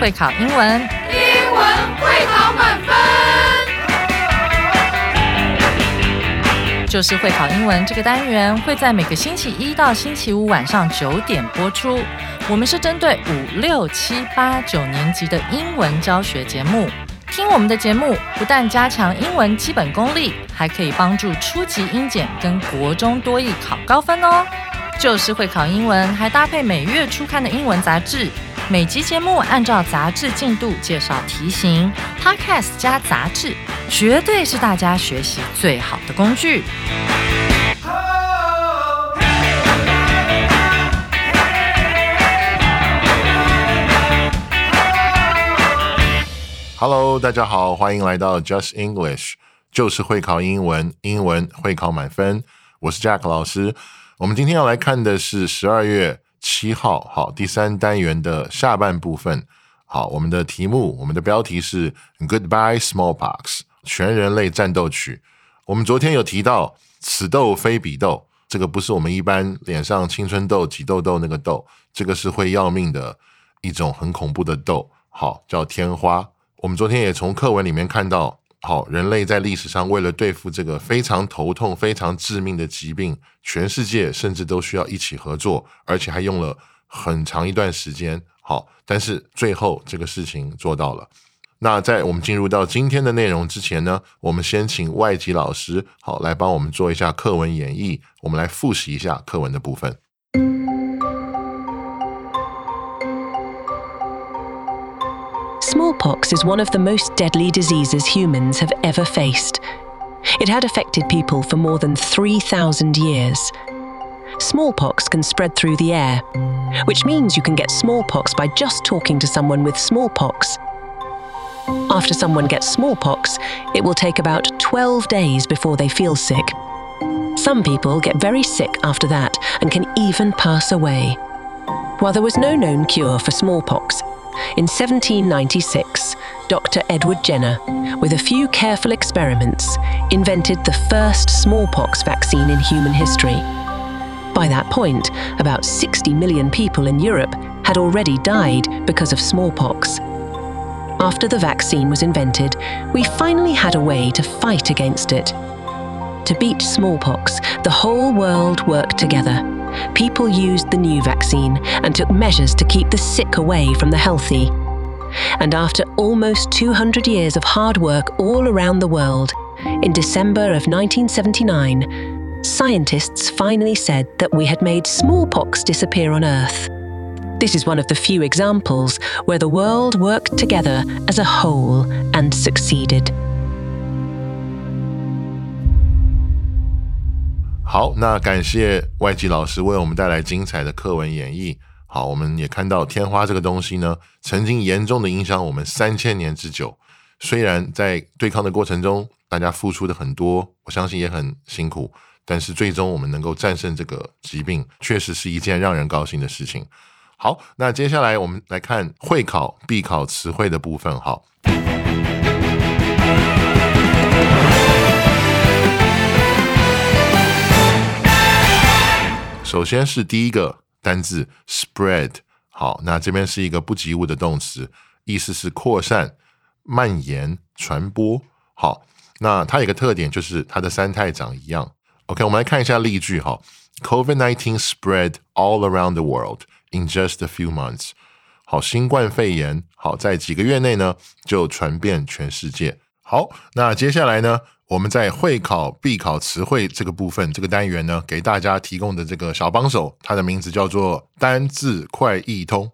会考英文， 英文会考满分。 就是会考英文这个单元会在每个星期一到星期五晚上9点播出。我们是针对5、6、7、8、9年级的英文教学节目。听我们的节目，不但加强英文基本功力，还可以帮助初级英检跟国中多益考高分哦。就是会考英文，还搭配每月初刊的英文杂志。每集节目按照杂志进度介绍题型 ，Podcast 加杂志，绝对是大家学习最好的工具。 Hello， 大家好，欢迎来到 Just English， 就是会考英文，英文会考满分。我是 Jack 老师。我们今天要来看的是12月7号，好，第3单元的下半部分。好，我们的标题是 Goodbye Smallpox， 全人类战斗曲。我们昨天有提到此痘非彼痘，这个不是我们一般脸上青春痘、挤痘痘那个痘，这个是会要命的一种很恐怖的痘，好，叫天花。我们昨天也从课文里面看到，好，人类在历史上为了对付这个非常头痛、非常致命的疾病，全世界甚至都需要一起合作，而且还用了很长一段时间。好，但是最后这个事情做到了。那在我们进入到今天的内容之前呢，我们先请外籍老师好来帮我们做一下课文演绎，我们来复习一下课文的部分。 Smallpox is one of the most deadly diseases humans have ever faced. It had affected people for more than 3,000 years. Smallpox can spread through the air, which means you can get smallpox by just talking to someone with smallpox. After someone gets smallpox, it will take about 12 days before they feel sick. Some people get very sick after that and can even pass away. While there was no known cure for smallpox, in 1796, Dr. Edward Jenner, with a few careful experiments, invented the first smallpox vaccine in human history. By that point, about 60 million people in Europe had already died because of smallpox. After the vaccine was invented, we finally had a way to fight against it. To beat smallpox, the whole world worked together. People used the new vaccine and took measures to keep the sick away from the healthy. And after almost 200 years of hard work all around the world, in December of 1979, scientists finally said that we had made smallpox disappear on Earth. This is one of the few examples where the world worked together as a whole and succeeded. 好，那感谢外籍老师为我们带来精彩的课文演绎。好，我们也看到天花这个东西呢，曾经严重的影响我们3000年之久。虽然在对抗的过程中，大家付出的很多，我相信也很辛苦，但是最终我们能够战胜这个疾病，确实是一件让人高兴的事情。好，那接下来我们来看会考必考词汇的部分。好。首先是第一个单字 spread， 好，那这边是一个不及物的动词，意思是扩散、蔓延、传播。好，那它有一个特点就是它的三态长一样。OK， 我们来看一下例句哈。COVID-19 spread all around the world in just a few months。好，新冠肺炎好在几个月内呢就传遍全世界。好，那接下来呢，我们在会考必考词汇这个部分，这个单元呢，给大家提供的这个小帮手，它的名字叫做单字快易通。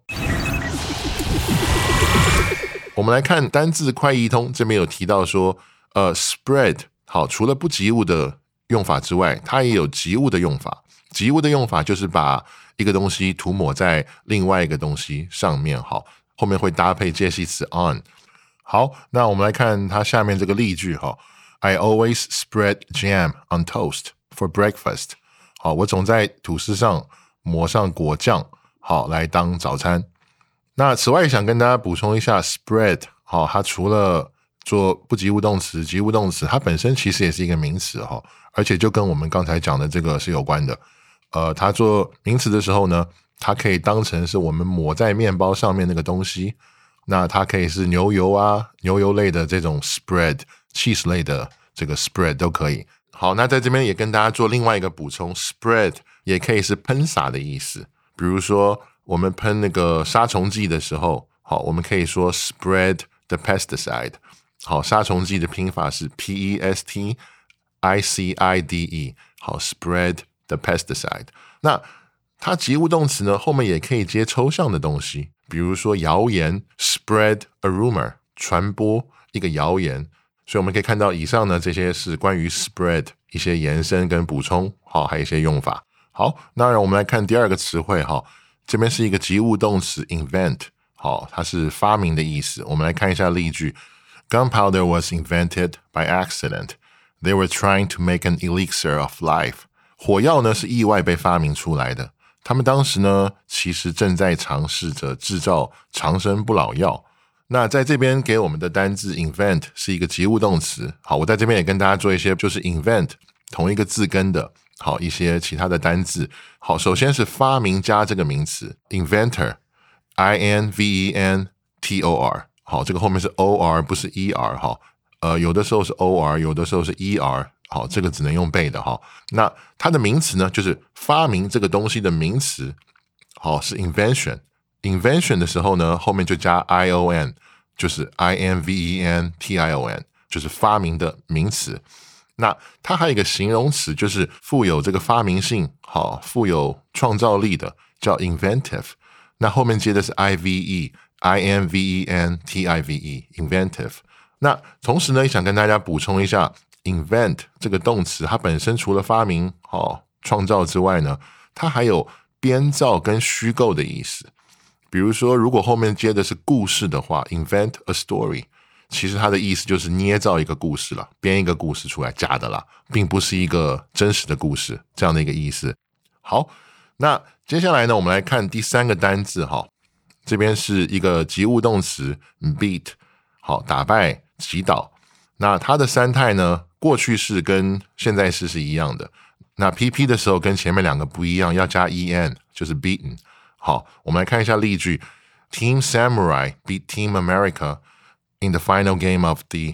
我们来看单字快易通，这边有提到说spread， 好，除了不及物的用法之外，它也有及物的用法。及物的用法就是把一个东西涂抹在另外一个东西上面，好，后面会搭配介系词 on。好，那我们来看它下面这个例句哈。I always spread jam on toast for breakfast。好，我总在吐司上抹上果酱，好，来当早餐。那此外想跟大家补充一下 spread， 好，它除了做不及物动词、及物动词，它本身其实也是一个名词哈，而且就跟我们刚才讲的这个是有关的。它做名词的时候呢，它可以当成是我们抹在面包上面那个东西。 那它可以是牛油啊，牛油类的这种 spread， cheese 类的这个 spread 都可以。好，那在这边也跟大家做另外一个补充 ，spread 也可以是喷洒的意思。比如说我们喷那个杀虫剂的时候，好，我们可以说 spread the pesticide。好，杀虫剂的拼法是 PESTICIDE。好 ，spread the pesticide。那它及物动词呢，后面也可以接抽象的东西，比如说谣言 ，spread a rumor， 传播一个谣言。所以我们可以看到以上呢，这些是关于 spread 一些延伸跟补充，好，还有一些用法。好，那让我们来看第二个词汇，哈，这边是一个及物动词 invent， 好，它是发明的意思。我们来看一下例句 ：Gunpowder was invented by accident. They were trying to make an elixir of life. 火药呢是意外被发明出来的。他们当时呢，其实正在尝试着制造长生不老药。那在这边给我们的单字 invent 是一个及物动词。好，我在这边也跟大家做一些就是 invent 同一个字根的，好，一些其他的单字。好，首先是发明家这个名词 inventor INVENTOR。好，这个后面是 OR 不是 ER。好，有的时候是 OR， 有的时候是 ER。好，这个只能用背的哈。那它的名词呢，就是发明这个东西的名词。好，是 invention。invention 的时候呢，后面就加 ION， 就是 INVENTION， 就是发明的名词。那它还有一个形容词，就是富有这个发明性，好，富有创造力的，叫 inventive。那后面接的是 INVENTIVE，inventive。那同时呢，也想跟大家补充一下 invent 这个动词，它本身除了发明、创造之外呢，它还有编造跟虚构的意思。比如说，如果后面接的是故事的话 ，invent a story， 其实它的意思就是捏造一个故事了，编一个故事出来，假的啦，并不是一个真实的故事，这样的一个意思。好，那接下来呢，我们来看第三个单字哈，这边是一个及物动词 beat， 好，打败、击倒。那它的三态呢，过去式跟现在式是一样的。那 PP 的时候跟前面两个不一样，要加 EN， 就是 beaten。好，我们来看一下例句 ：Team Samurai beat Team America in the final game of the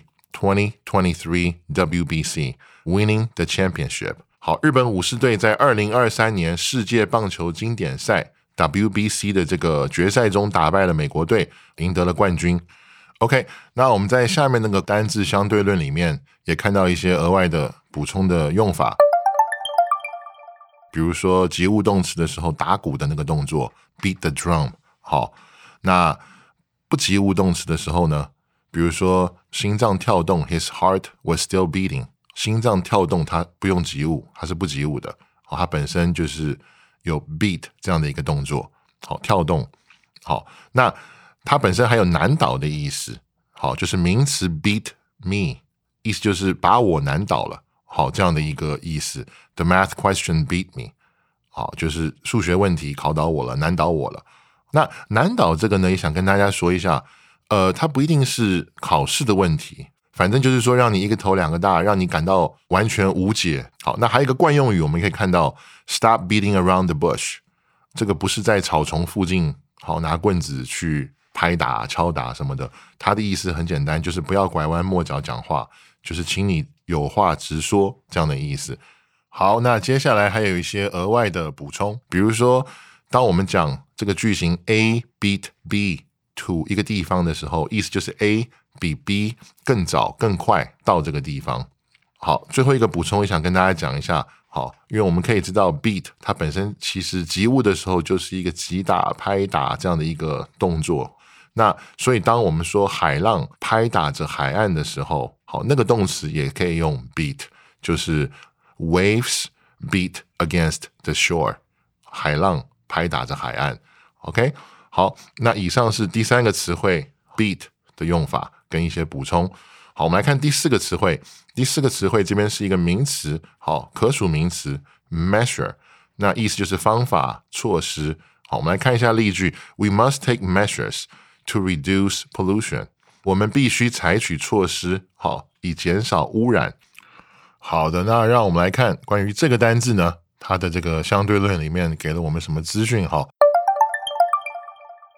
2023 WBC, winning the championship. 好，日本武士队在2023年世界棒球经典赛 WBC 的这个决赛中打败了美国队，赢得了冠军。OK， 那我们在下面那个单字相对论里面也看到一些额外的补充的用法。比如说及物动词的时候打鼓的那个动作 beat the drum。 好，那不及物动词的时候呢，比如说心脏跳动 his heart was still beating， 心脏跳动它不用及物，它是不及物的。好，它本身就是有 beat 这样的一个动作。好，跳动。好，那它本身还有难倒的意思。好，就是名词 beat me， 意思就是把我难倒了。好，这样的一个意思。The math question beat me。 好，就是数学问题考倒我了，难倒我了。那难倒这个呢，也想跟大家说一下，它不一定是考试的问题，反正就是说让你一个头两个大，让你感到完全无解。好，那还有一个惯用语，我们可以看到 stop beating around the bush， 这个不是在草丛附近，好，拿棍子去拍打、敲打什么的，它的意思很简单，就是不要拐弯抹角讲话，就是请你有话直说，这样的意思。好，那接下来还有一些额外的补充，比如说当我们讲这个句型 A beat B to 一个地方的时候，意思就是 A 比 B 更早更快到这个地方。好，最后一个补充也想跟大家讲一下。好，因为我们可以知道 beat 它本身其实及物的时候就是一个击打、拍打这样的一个动作。那所以当我们说海浪拍打着海岸的时候，好，那个动词也可以用 beat， 就是 waves beat against the shore， 海浪拍打着海岸。OK， 好，那以上是第三个词汇 beat 的用法跟一些补充。好，我们来看第四个词汇。第四个词汇这边是一个名词，好，可数名词 measure， 那意思就是方法、措施。好，我们来看一下例句 ：We must take measures to reduce pollution。我们必须采取措施，好，以减少污染。好的，那让我们来看关于这个单字呢，它的这个相对论里面给了我们什么资讯？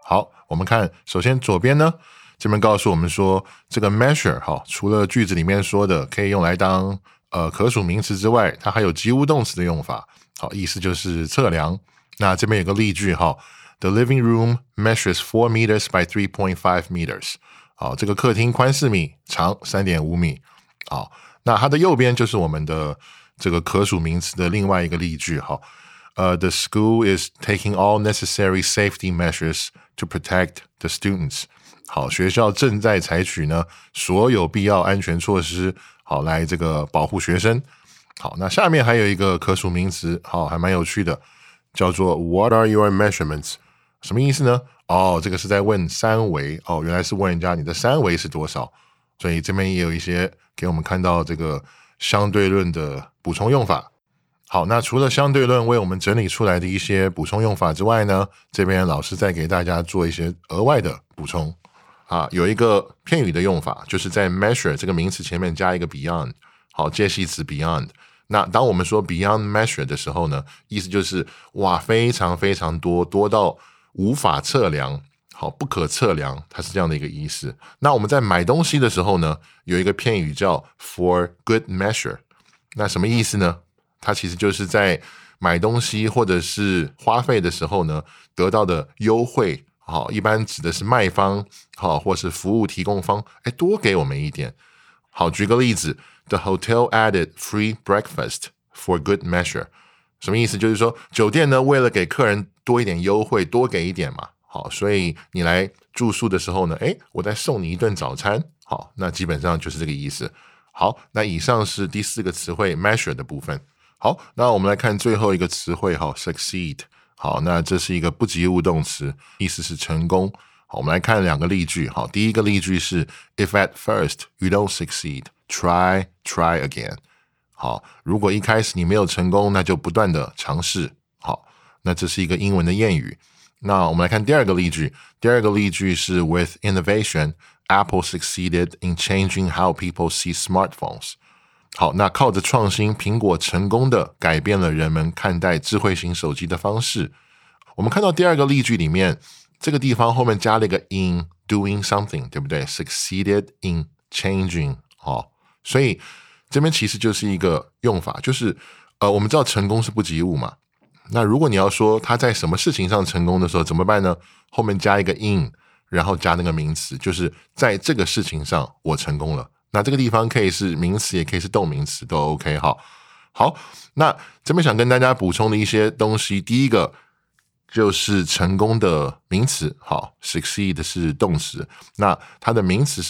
好，我们看首先左边呢，这边告诉我们说这个 measure 除了句子里面说的可以用来当可数名词之外，它还有及物动词的用法。好，意思就是测量。那这边有个例句The living room measures 4 meters by 3.5 meters。好，这个客厅宽4米，长 3.5 米。好，那它的右边就是我们的这个可数名词的另外一个例句。The school is taking all necessary safety measures to protect the students。好，学校正在采取呢所有必要安全措施，好来这个保护学生。好，那下面还有一个可数名词，好，还蛮有趣的，叫做 What are your measurements？ 什么意思呢？这个是在问三围，原来是问人家你的三围是多少，所以这边也有一些给我们看到这个相对论的补充用法。好，那除了相对论为我们整理出来的一些补充用法之外呢，这边老师再给大家做一些额外的补充。有一个片语的用法，就是在 measure 这个名词前面加一个 beyond， 好，介系词 beyond。那当我们说 beyond measure 的时候呢，意思就是哇，非常非常多，多到无法测量，好，不可测量，它是这样的一个意思。那我们在买东西的时候呢，有一个片语叫 for good measure。那什么意思呢？它其实就是在买东西或者是花费的时候呢，得到的优惠，好，一般指的是卖方，好，或是服务提供方，多给我们一点。好，举个例子 ，The hotel added free breakfast for good measure。什么意思？就是说酒店呢，为了给客人多一点优惠，多给一点嘛。好，所以你来住宿的时候呢，我再送你一顿早餐。好，那基本上就是这个意思。好，那以上是第4个词汇 measure 的部分。好，那我们来看最后一个词汇succeed。好，那这是一个不及物动词，意思是成功。好，我们来看2个例句。好，第一个例句是 If at first you don't succeed, try again。好，如果一开始你没有成功，那就不断的尝试。好，那这是一个英文的谚语。那我们来看第2个例句。第2个例句是 With innovation, Apple succeeded in changing how people see smartphones。好，那靠着创新，苹果成功的改变了人们看待智慧型手机的方式。我们看到第2个例句里面，这个地方后面加了一个 in doing something， 对不对？ Succeeded in changing。好，所以这边其实就是一个用法，就是我们知道成功是不及物嘛。那如果你要说他在什么事情上成功的时候怎么办呢？后面加一个 in， 然后加那个名词，就是在这个事情上我成功了。那这个地方可以是名词，也可以是动名词，都 OK。好，那这边想跟大家补充的一些东西，第一个就是成功的名词。好 ，succeed 是动词，那它的名词是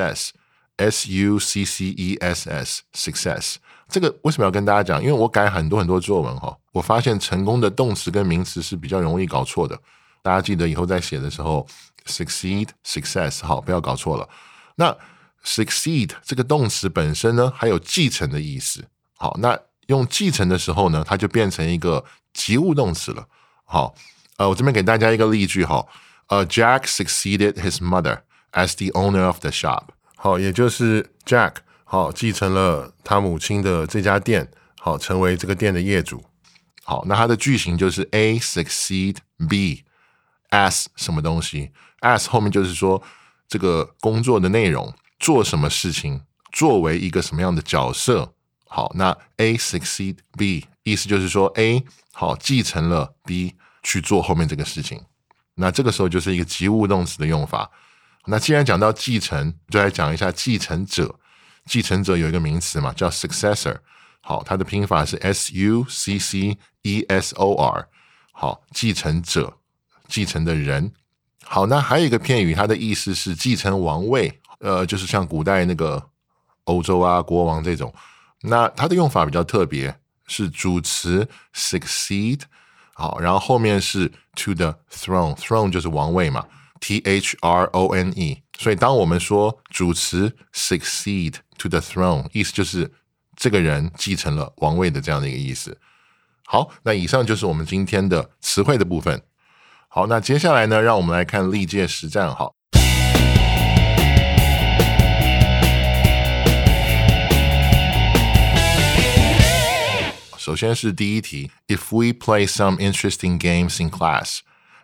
success。success，success。这个为什么要跟大家讲？因为我改很多作文我发现成功的动词跟名词是比较容易搞错的。大家记得以后在写的时候 succeed、success， 好，不要搞错了。那 succeed 这个动词本身呢，还有继承的意思。好，那用继承的时候呢，它就变成一个及物动词了。好，我这边给大家一个例句Jack succeeded his mother as the owner of the shop。好，也就是 Jack 继承了他母亲的这家店，好，成为这个店的业主。好，那它的句型就是 A succeed B as 什么东西 as 后面就是说这个工作的内容，做什么事情，作为一个什么样的角色。好，那 A succeed B 意思就是说 A 好继承了 B 去做后面这个事情。那这个时候就是一个及物动词的用法。那既然讲到继承，就来讲一下继承者。继承者有一个名词嘛，叫 successor。好，它的拼法是 successor。好，继承者，继承的人。好，那还有一个片语，它的意思是继承王位，就是像古代那个欧洲啊国王这种。那它的用法比较特别，是主词 succeed， 好，然后后面是 to the throne，throne 就是王位嘛。throne， 所以当我们说主词 succeed to the throne， 意思就是这个人继承了王位的这样的一个意思。好，那以上就是我们今天的词汇的部分。好，那接下来呢，让我们来看历届实战。好，首先是第一题 ，If we play some interesting games in class,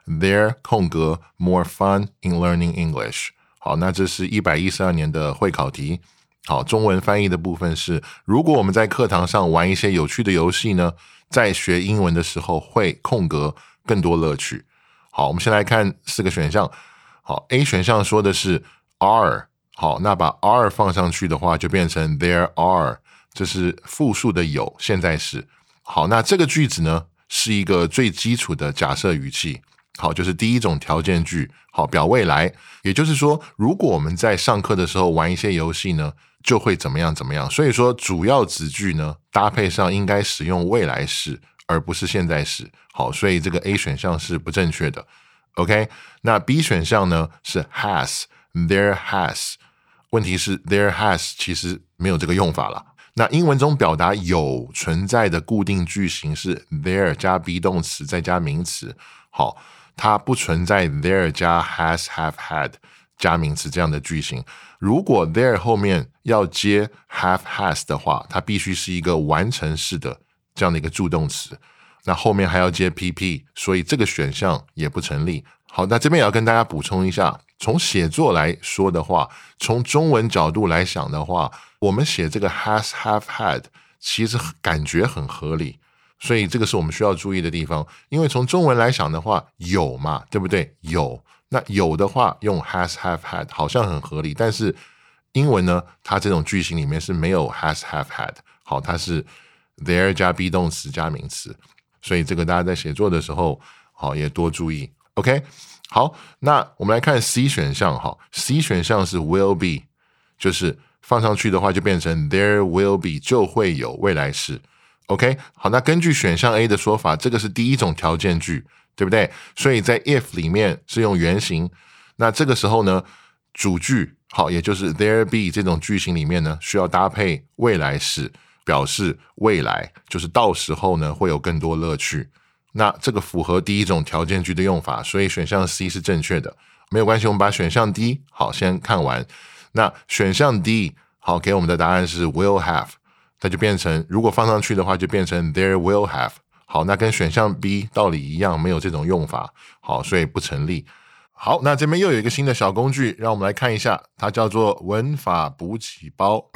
there 空格 more fun in learning English。 好，那这是112年的会考题。好，中文翻译的部分是，如果我们在课堂上玩一些有趣的游戏呢，在学英文的时候会空格更多乐趣。好，我们先来看4个选项。好， A 选项说的是 are。 好，那把 are 放上去的话就变成 there are， 这是复数的有现在时。好，那这个句子呢是一个最基础的假设语气。好，就是第一种条件句。好，表未来，也就是说如果我们在上课的时候玩一些游戏呢，就会怎么样怎么样。所以说主要子句呢搭配上应该使用未来式而不是现在时。好，所以这个 A 选项是不正确的。 OK， 那 B 选项呢是 has， there has。 问题是 there has 其实没有这个用法了。那英文中表达有存在的固定句型是 there 加 be 动词再加名词。好，它不存在 there 加 has have had 加名词这样的句型。如果 there 后面要接 have has 的话，它必须是一个完成式的这样的一个助动词，那后面还要接 PP， 所以这个选项也不成立。好，那这边也要跟大家补充一下，从写作来说的话，从中文角度来想的话，我们写这个 has have had 其实感觉很合理，所以这个是我们需要注意的地方。因为从中文来想的话，有嘛，对不对？有，那有的话用 has have had 好像很合理，但是英文呢，它这种句型里面是没有 has have had。 好，它是 there 加 be 动词加名词，所以这个大家在写作的时候好也多注意。 OK， 好，那我们来看 C 选项。好， C 选项是 will be， 就是放上去的话就变成 there will be， 就会有未来式。 OK， 好，那根据选项 A 的说法，这个是第一种条件句，对不对？所以在 if 里面是用原形，那这个时候呢主句好，也就是 there be 这种句型里面呢需要搭配未来式，表示未来就是到时候呢会有更多乐趣。那这个符合第一种条件句的用法，所以选项 C 是正确的。没有关系，我们把选项 D 好先看完。那选项 D 好给我们的答案是 will have， 它就变成如果放上去的话就变成 there will have。 好，那跟选项 B 道理一样，没有这种用法。好，所以不成立。好，那这边又有一个新的小工具，让我们来看一下，它叫做文法补给包。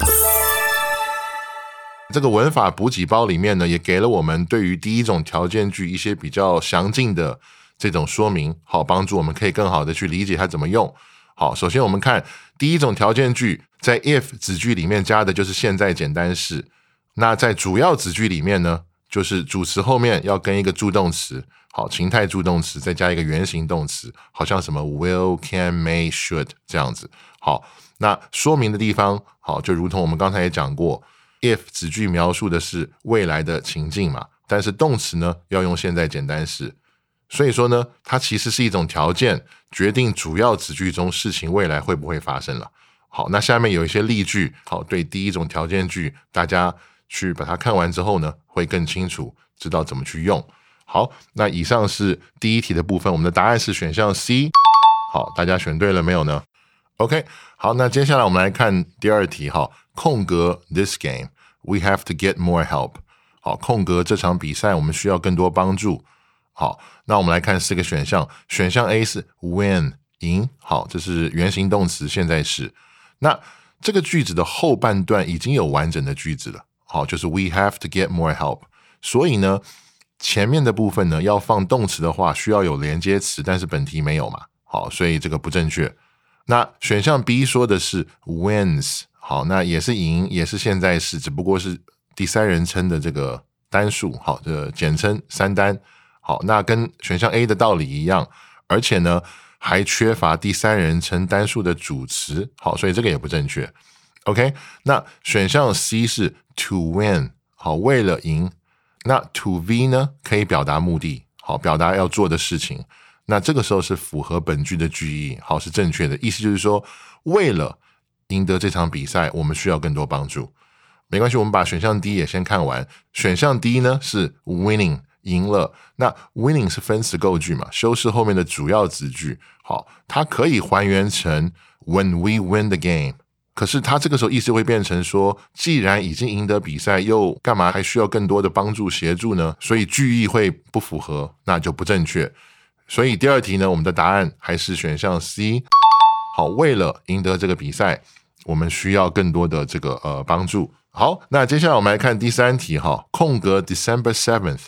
这个文法补给包里面呢，也给了我们对于第一种条件句一些比较详尽的这种说明，好，帮助我们可以更好的去理解它怎么用。好，首先我们看第一种条件句，在 if 子句里面加的就是现在简单式，那在主要子句里面呢，就是主词后面要跟一个助动词，好，情态助动词，再加一个原形动词，好像什么 will can may should 这样子。好，那说明的地方好，就如同我们刚才也讲过，if 子句描述的是未来的情境嘛，但是动词呢要用现在简单式，所以说呢它其实是一种条件，决定主要子句中事情未来会不会发生了。好，那下面有一些例句，好，对第一种条件句大家去把它看完之后呢会更清楚知道怎么去用。好，那以上是第一题的部分，我们的答案是选项 C。 好，大家选对了没有呢？ OK， 好，那接下来我们来看第二题。好，空格 this game we have to get more help。 好，空格这场比赛我们需要更多帮助。好，那我们来看4个选项。选项 A 是 win 赢，好，这是原形动词现在式。那这个句子的后半段已经有完整的句子了，好，就是 we have to get more help， 所以呢前面的部分呢要放动词的话需要有连接词，但是本题没有嘛，好，所以这个不正确。那选项 B 说的是 wins， 好，那也是赢，也是现在式，只不过是第三人称的这个单数，好，这个简称三单。好，那跟选项 A 的道理一样，而且呢还缺乏第三人称单数的主词，好，所以这个也不正确。 OK， 那选项 C 是 to win， 好，为了赢。那 to V 呢可以表达目的，好，表达要做的事情，那这个时候是符合本句的句意，好，是正确的。意思就是说为了赢得这场比赛我们需要更多帮助。没关系，我们把选项 D 也先看完。选项 D 呢是 winning， 赢了。那 winning 是分词构句嘛，修饰后面的主要子句，好，它可以还原成 when we win the game， 可是它这个时候意思会变成说既然已经赢得比赛又干嘛还需要更多的帮助协助呢，所以句意会不符合，那就不正确。 所以第二题呢，我们的答案还是选项 C。好，为了赢得这个比赛，我们需要更多的这个帮助。好，那接下来我们来看第三题哈，空格 December 7th,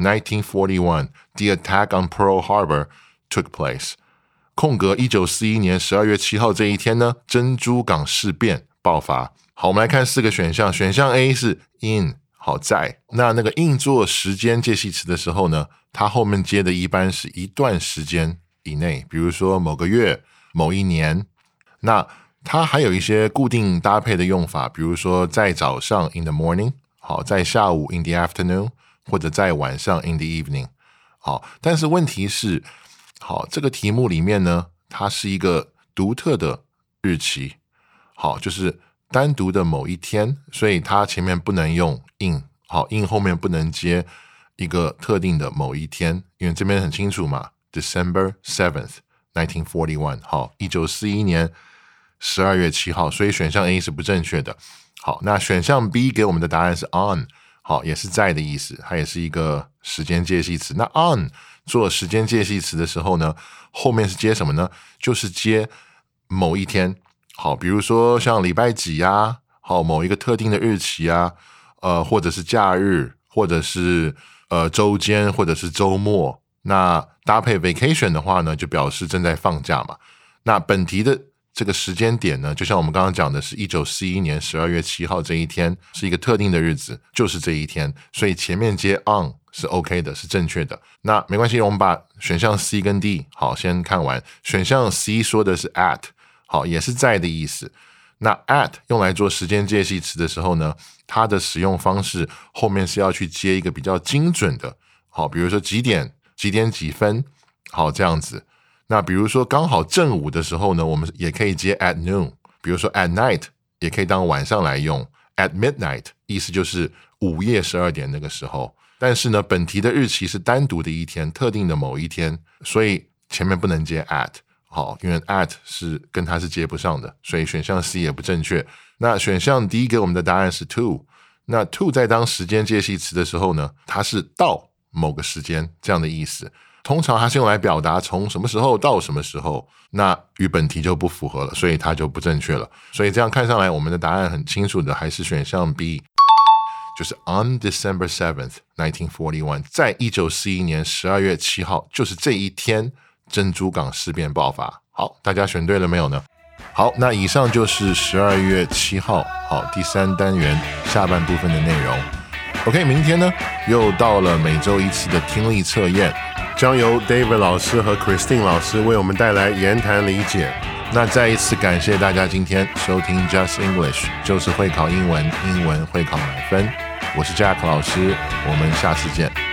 1941, the attack on Pearl Harbor took place。空格1941年12月7号这一天呢，珍珠港事变爆发。好，我们来看4个选项，选项 A 是 in， 好在，那个 in 做时间介系词的时候呢，它后面接的一般是一段时间以内，比如说某个月、某一年。那它还有一些固定搭配的用法，比如说在早上 in the morning， 好，在下午 in the afternoon， 或者在晚上 in the evening。好，但是问题是，好，这个题目里面呢，它是一个独特的日期，好，就是单独的某一天，所以它前面不能用 in， 好 ，in 后面不能接一个特定的某一天，因为这边很清楚嘛 ，December 7th, 1941， 好，1941年12月7号，所以选项 A 是不正确的。好，那选项 B 给我们的答案是 on， 好，也是在的意思，它也是一个时间介系词。那 on 做时间介系词的时候呢，后面是接什么呢？就是接某一天，好，比如说像礼拜几啊，好，某一个特定的日期啊，或者是假日，或者是周间，或者是周末。那搭配 vacation 的话呢，就表示正在放假嘛。那本题的这个时间点呢，就像我们刚刚讲的是1941年12月7号这一天，是一个特定的日子，就是这一天，所以前面接 on 是 OK 的，是正确的。那没关系，我们把选项 C 跟 D 好先看完。选项 C 说的是 at， 好，也是在的意思。那 at 用来做时间介系词的时候呢，它的使用方式后面是要去接一个比较精准的，好，比如说几点几分，好，这样子。那比如说刚好正午的时候呢，我们也可以接 at noon， 比如说 at night 也可以当晚上来用， at midnight 意思就是午夜12点那个时候。但是呢，本题的日期是单独的一天，特定的某一天，所以前面不能接 at， 好，因为 at 是跟它是接不上的，所以选项 C 也不正确。那选项 D 给我们的答案是 to， 那 to 在当时间介系词的时候呢，它是到某个时间这样的意思。通常它是用来表达从什么时候到什么时候，那与本题就不符合了，所以它就不正确了。所以这样看上来，我们的答案很清楚的还是选项 B， 就是 on December 7th, 1941， 在1941年12月7号，就是这一天，珍珠港事变爆发。好，大家选对了没有呢？好，那以上就是12月7号，好，第3单元下半部分的内容。OK， 明天呢，又到了每周一次的听力测验。将由 David 老师和 Christine 老师为我们带来言谈理解。那再一次感谢大家今天收听 Just English， 就是会考英文，英文会考满分。我是 Jack 老师，我们下次见。